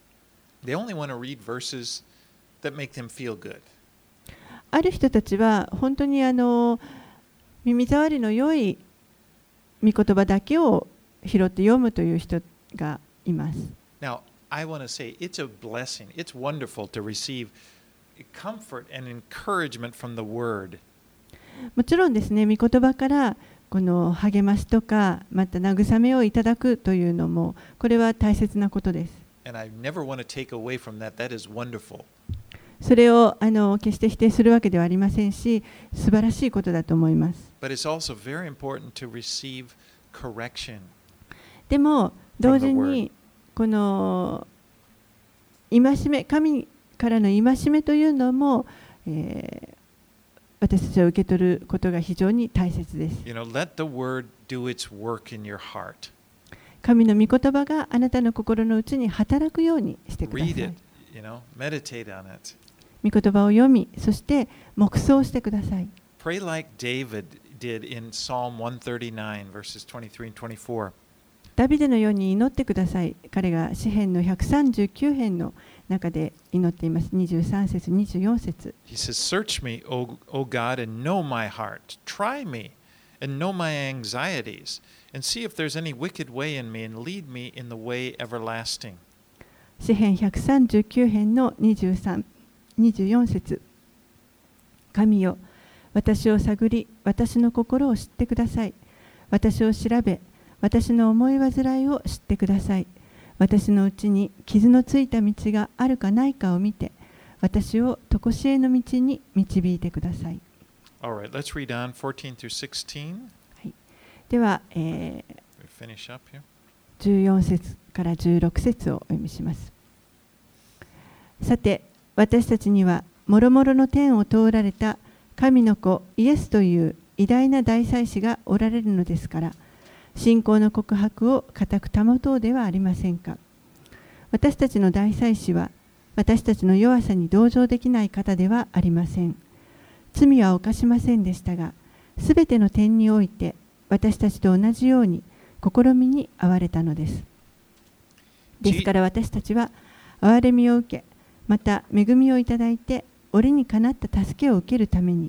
want to read verses that make them feel good. ある人たちは本当に耳障りの良い御言葉だけを拾って読むという人がいます。 Now, I want to say it's a blessing. It's wonderful to receive comfort and encouragement from the Word. もちろんですね、御言葉からこの励ましとか、また慰めをいただくというのも、これは大切なことです。 And I never want to take away from that. That is wonderful. それを決して否定するわけではありませんし、素晴らしいことだと思います。 But it's also very important to receive correction. でも同時にこの戒め、神からの戒めというのも、私たちは受け取ることが非常に大切です。 You know, let the Word do its work in your heart. 神の御言葉があなたの心の内に働くようにしてくださ Read い。 it, you know, meditate on it. 御言葉を読み、そして黙想してください。 Pray like David did in Psalm 139, verses 23 and 24. ダビデのように祈ってください。彼が詩編の139編の中で祈っています。23節、24節。 He says, Search me, O God, and know my heart. Try me and know my anxieties, and see if there's any wicked way in me, and lead me in the way everlasting. 詩編139編の23、24節。神よ、私を探り、私の心を知ってください。私を調べ、私の思い煩いを知ってください。私のうちに傷のついた道があるかないかを見て、私を常しえの道に導いてください。 All right, let's read on 14 through 16. はい、では、 We finish up here. 14節から16節をお読みします。さて、私たちにはもろもろの天を通られた神の子イエスという偉大な大祭司がおられるのですから、信仰の告白を固く保とうではありませんか。私たちの大祭司は私たちの弱さに同情できない方ではありません。罪は犯しませんでしたが、すべての点において私たちと同じように試みに遭われたのです。ですから私たちは憐れみを受け、また恵みをいただいて折にかなった助けを受けるために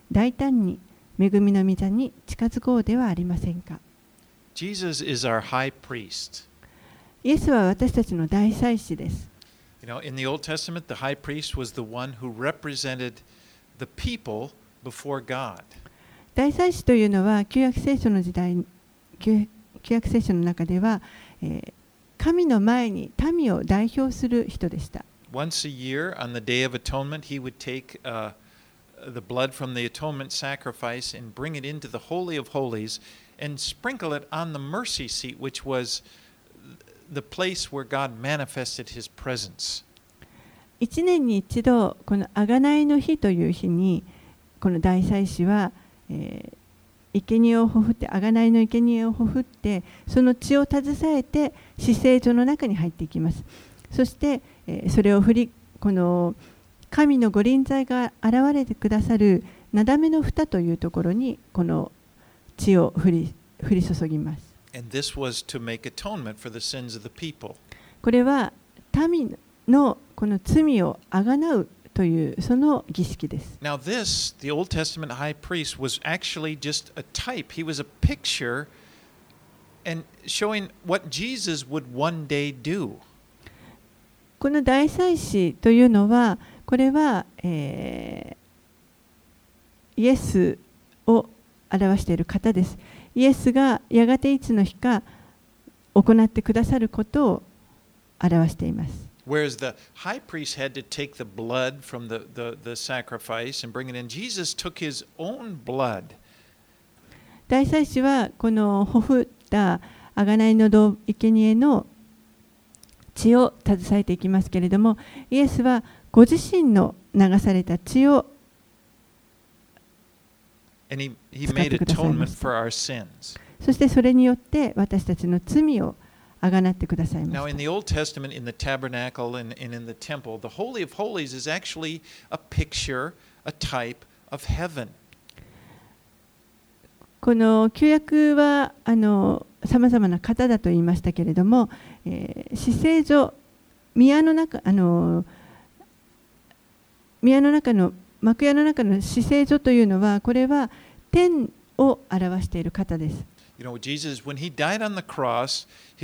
大胆に恵みの御座に近づこうではありませんか。 Jesus is our high priest. イエスは私たちの大祭司です。 You know, in the Old Testament, the high priest was the one who represented the people before God. 大祭司というのは旧約聖書の時代、旧約聖書の中では、神の前に民を代表する人でした。 Once a year, on the Day of Atonement, he would take the blood from the atonement sacrifice and bring it into the Holy of Holies and sprinkle it on the mercy seat, which was the place where God manifested his presence. 1年に一度、この贖いの日という日に、この大祭司は、生贄をほふって、贖いの生贄をほふって、その血を携えて、至聖所の中に入っていきます。そして、それをこの神の御臨在が現れてくださるなだめの蓋というところに、この血を降り注ぎます。 And this was to make atonement for the sins of the people. これは民のこの罪をあがなうというその儀式です。 Now this, the Old Testament high priest, was actually just a type. He was a picture and showing what Jesus would one day do. この大祭司というのは、これは、イエスを表している方です。イエスがやがていつの日か行ってくださることを表しています。 Whereas the high priest had to take the blood from the sacrifice and bring it in, Jesus took his own blood. 大祭司はこのほふった贖いの生贄の血を携えていきますけれども、イエスはご自身の流された血を使ってくださいました。そしてそれによって私たちの罪をあがなってくださいました。 Now, in the Old Testament, in the tabernacle and in the temple, the Holy of Holies is actually a picture, a type of heaven. この旧約はさまざまな方だと言いましたけれども、至聖所、宮の中の幕屋の中の至聖所というのは、これは天を表している方です。 You know, Jesus, when he died on the cross,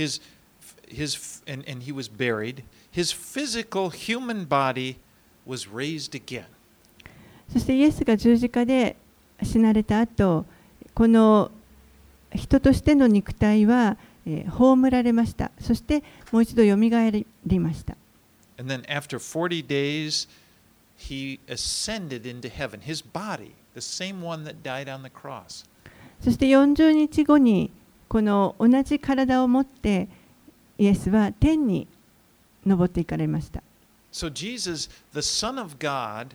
and he was buried, his physical human body was raised again. そしてイエスが十字架で死なれた後、この人としての肉体は葬られました。そしてもう一度よみがえりました。 And then after 40 days, he ascended into heaven. His body, the same one that died on the cross. そして40日後にこの同じ体を持ってイエスは天に昇っていかれました。 So Jesus, the Son of God,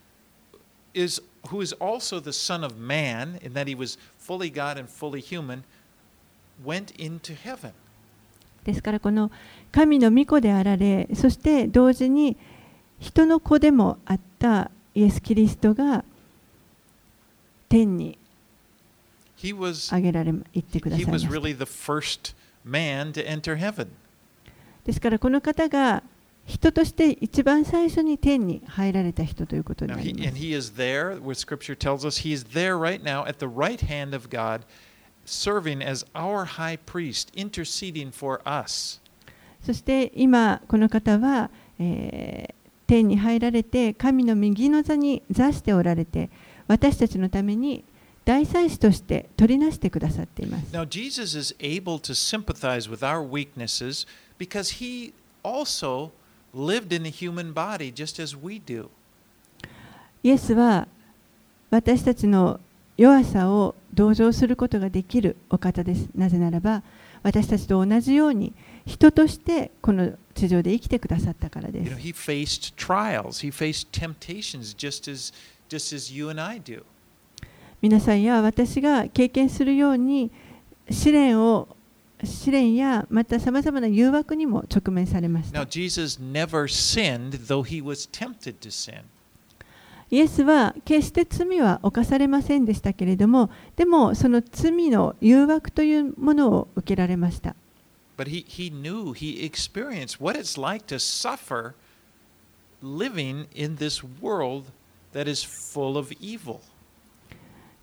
who is also the Son of Man, in that he was fully God and fully human, went into heaven. ですからこの神の御子であられ、そして同時に人の子でもあったイエス・キリストが天に上げられ、行ってくださいました。 He was really the first man to enter heaven. ですからこの方が人として一番最初に天に入られた人ということになります。 And he is there, where Scripture tells us, he is there right now at the right hand of God, serving as our high priest, interceding for us. そして今この方は、天に入られて神の右の座に座しておられて、私たちのために大祭司として取りなしてくださっています。 Now, Jesus is able to sympathize with our weaknesses because he also lived in a human body just as we do. イエスは私たちの弱さを同情することができるお方です。なぜならば私たちと同じように人としてこの地上で生きてくださったからです。 He faced trials, he faced temptations just as you and I do. 皆さんや私が経験するように試練やまたさまざまな誘惑にも直面されました。 Now, Jesus never sinned, though he was tempted to sin. イエスは決して罪は犯されませんでしたけれども、でもその罪の誘惑というものを受けられました。 But he knew, he experienced what it's like to suffer living in this world that is full of evil.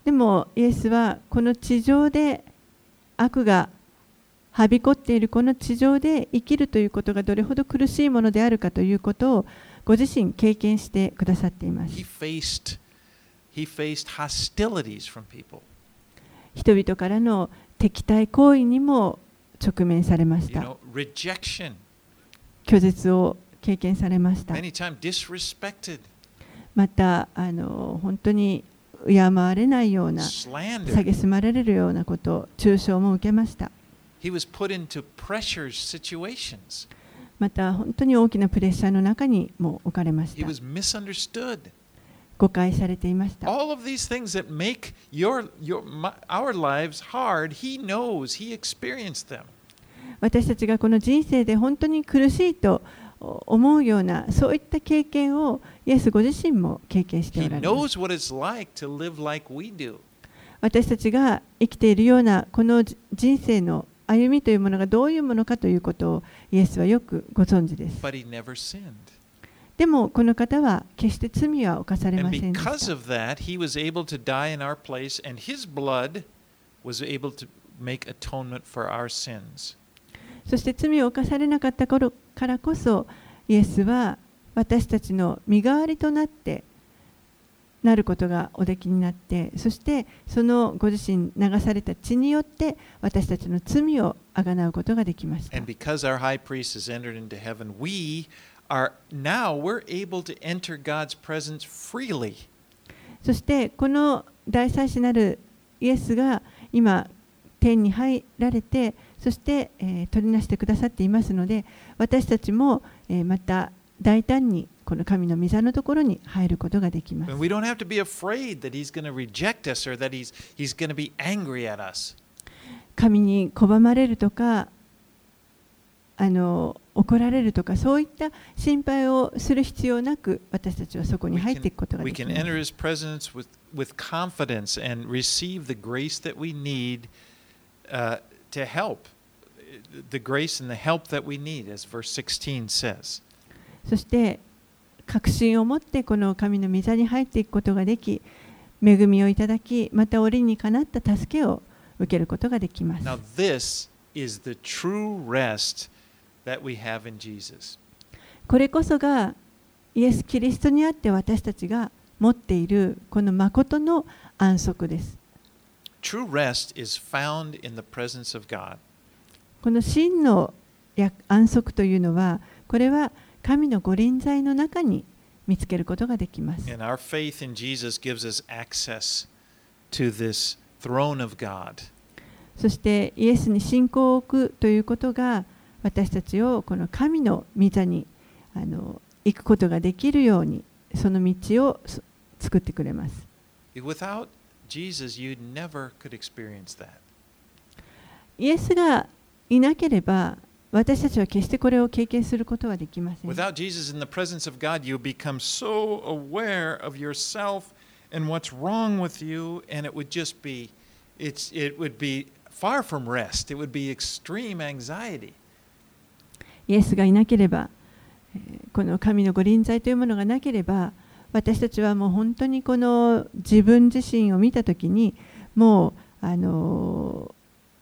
でもイエスはこの地上で悪がはびこっているこの地上で生きるということがどれほど苦しいものであるかということをご自身経験してくださっています。 He faced hostilities from people. 人々からの敵対行為にも直面されました。 Rejection. 拒絶を経験されました。 Many times disrespected. また本当に敬われないような、蔑まれるようなこと、中傷も受けました。 He was put into pressure situations. また本当に大きなプレッシャーの中にも置かれまし He た。 was misunderstood. 誤解されていました。 All of these things that make our lives hard, he knows, he experienced them. 私たちがこの人生で本当に苦しいと思うようなそういった経験をイエスご自身も経験しておられます。 He knows what it's like to live like we do. 私たちが生きているようなこの人生の歩みというものがどういうものかということをイエスはよくご存知です。 But he never sinned. でもこの方は決して罪は犯されま And せんでし because た。 of that, he was able to die in our place, and his blood was able to make atonement for our sins. そして罪を犯されなかった頃からこそイエスは私たちの身代わりとなってなることがおできになって、そしてそのご自身流された血によって私たちの罪をあがなうことができました。 And because our high priest has entered into heaven, we're able to enter God's presence freely. そしてこの大祭司なるイエスが今天に入られて、そして、取りなしてくださっていますので、私たちも、また大胆にこの神の御座のところに入ることができます。 And we don't have to be afraid that he's going to reject us or that he's going to be angry at us. 神に拒まれるとか怒られるとかそういった心配をする必要なく私たちはそこに入っていくことができます。 We can enter his presence with confidence and receive the grace that we need to help. The grace and the help that we need, as verse 16 says. そして確信を持ってこの神の御座に入っていくことができ、恵みをいただき、また折にかなった助けを受けることができます。 Now this is the true rest that we have in Jesus. これこそがイエス・キリストにあって私たちが持っているこの誠の安息です。 True rest is found in the presence of God. この真の安息というのは、これは神のご臨在の中に見つけることができます。 And our faith in Jesus gives us access to this throne of God. そしてイエスに信仰を置くということが私たちをこの神の御座に行くことができるようにその道を作ってくれます。 Without Jesus, you never could experience that. イエスがいなければ私たちは決してこれを経験することはできません。 Without Jesus in the presence of God, you become so aware of yourself and what's wrong with you, and it would just be, it would be far from rest. It would be extreme anxiety. イエスがいなければ、この神のご臨在というものがなければ、私たちはもう本当にこの自分自身を見たときに、もう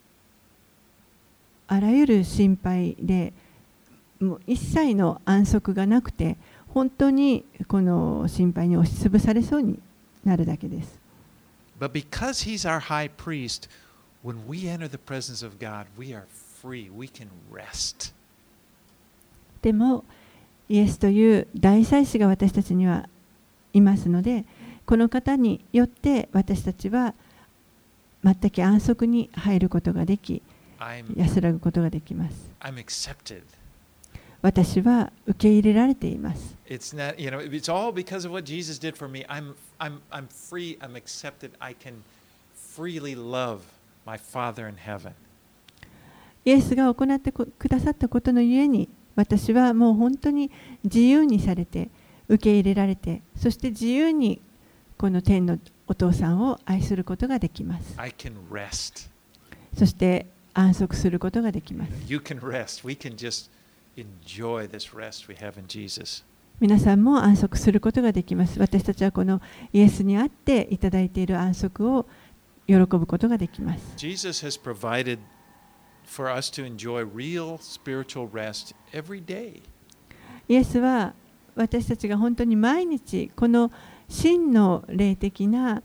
あらゆる心配で、もう一切の安息がなくて、本当にこの心配に押しつぶされそうになるだけです。 But because he's our high priest, when we enter the presence of God, we are free. We can rest. でも、イエスという大祭司が私たちにはいますので、この方によって私たちは全く安息に入ることができ、安らぐことができます。 I'm accepted. 私は受け入れられています。 It's not, it's all because of what Jesus did for me. I'm free. I'm accepted. I can freely love my Father in heaven. イエスが行ってくださったことのゆえに、私はもう本当に自由にされて、受け入れられて、そして自由にこの天のお父さんを愛することができます。 I can rest. そして安息することができます。 You can rest. We can just enjoy this rest we have in Jesus. 皆さんも安息することができます。私たちはこのイエスにあっていただいている安息を喜ぶことができます。 Jesus has provided for us to enjoy real spiritual rest every day. イエスは私たちが本当に毎日この真の霊的な、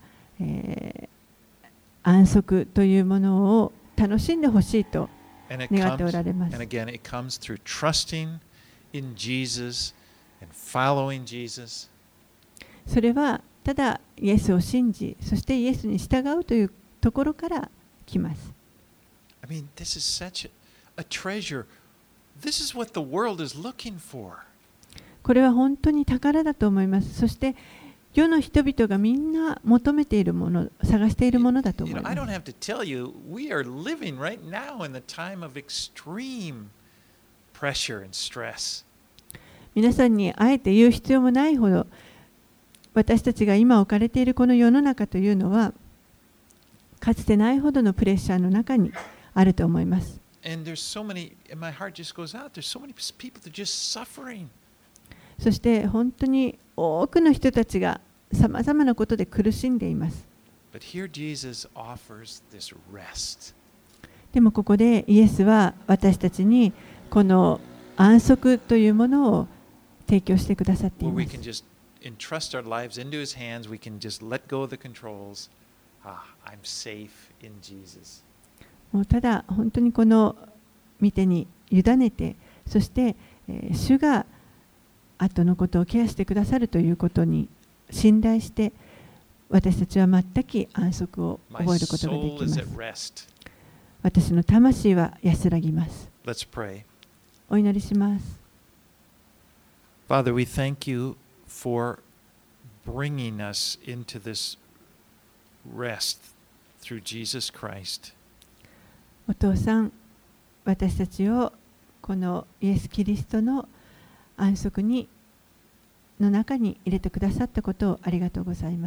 安息というものを楽しんでほしいと And it 願ってお comes, られます and。again, it comes through trusting in Jesus and following Jesus. それはただイエスを信じ、そしてイエスに従うというところから来ます。 I mean, this is such a treasure. This is what the world is looking for. これは本当に宝だと思います。そして世の人々がみんな求めているもの、探しているものだと思い I ま don't す。 have to tell you, we are living right now in the time of extreme pressure and stress. 皆さんにあえて言う必要もないほど、私たちが今置かれているこの世の中というのは、かつてないほどのプレッシャーの中にあると思います。 And there's so many, and my heart just goes out. There's so many people that are just suffering. そして本当に多くの人たちがさまざまなことで苦しんでいます。 But here Jesus offers this rest. でもここでイエスは私たちにこの安息というものを提供してくださってい Where ま we す can。just entrust our lives into His hands. We can just let go of the controls. I'm safe in Jesus. もうただ本当にこの御手に委ねて、そして、主が後のことをケアしてくださるということに信頼して、私たちは全く安息を My 覚えることがで soul きま is す at。rest. 私の魂は安らぎます。 Let's pray. お祈りします。 Father, we thank you for bringing us into this rest through Jesus Christ. お父さん、私たちをこのイエス・キリストの安息の中に入れてくださったことをありがとうございます。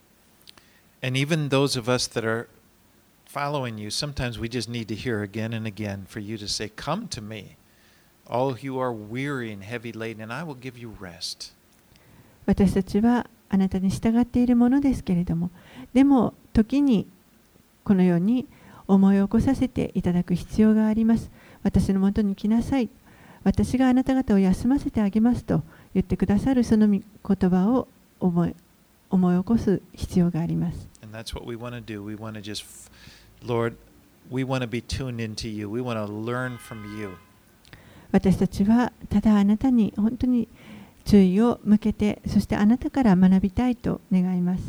And even those of us that are following you, sometimes we just need to hear again and again for you to say, Come to me, all who are weary and heavy laden, and I will give you rest. 私たちはあなたに従っているものですけれども、でも時にこのように思い起こさせていただく必要があります。私のもとに来なさい。私があなた方を休ませてあげますと言ってくださるその言葉を思い起こす必要があります。 And that's what we want to do. We want to just, Lord, we want to be tuned into you. We want to learn from you. 私たちはただあなたに本当に注意を向けて、そしてあなたから学びたいと願います。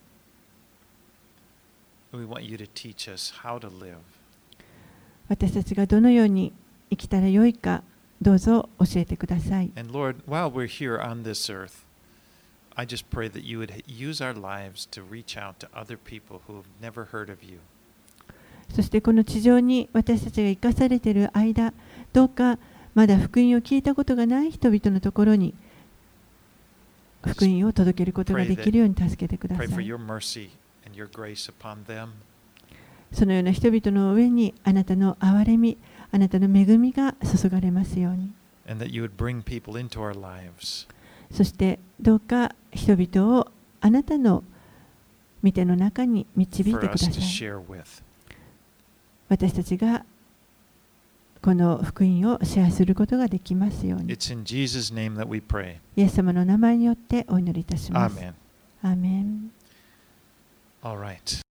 We want you to teach us how to live. 私たちがどのように生きたらよいか、どうぞ教えてください。 And Lord, while we're here on this earth, I just pray that you would use our lives to reach out to other people who have never heard of you. そしてこの地上に私たちが生かされている間、どうかまだ福音を聞いたことがない人々のところに福音を届けることができるように助けてくださ Pray for い。 your mercy and your grace upon them. そのような人々の上にあなたの憐れみ、あなたの恵みが注がれますように。 And that you would bring people into our lives. そしてどうか人々をあなたの御手の中に導い For てくだ us さ to い。 share with. 私たちがこの福音をシェアすることができますように。 It's in Jesus' name that we pray. イエス様の名前によってお祈りいたします。 Amen. アーメン。 All right.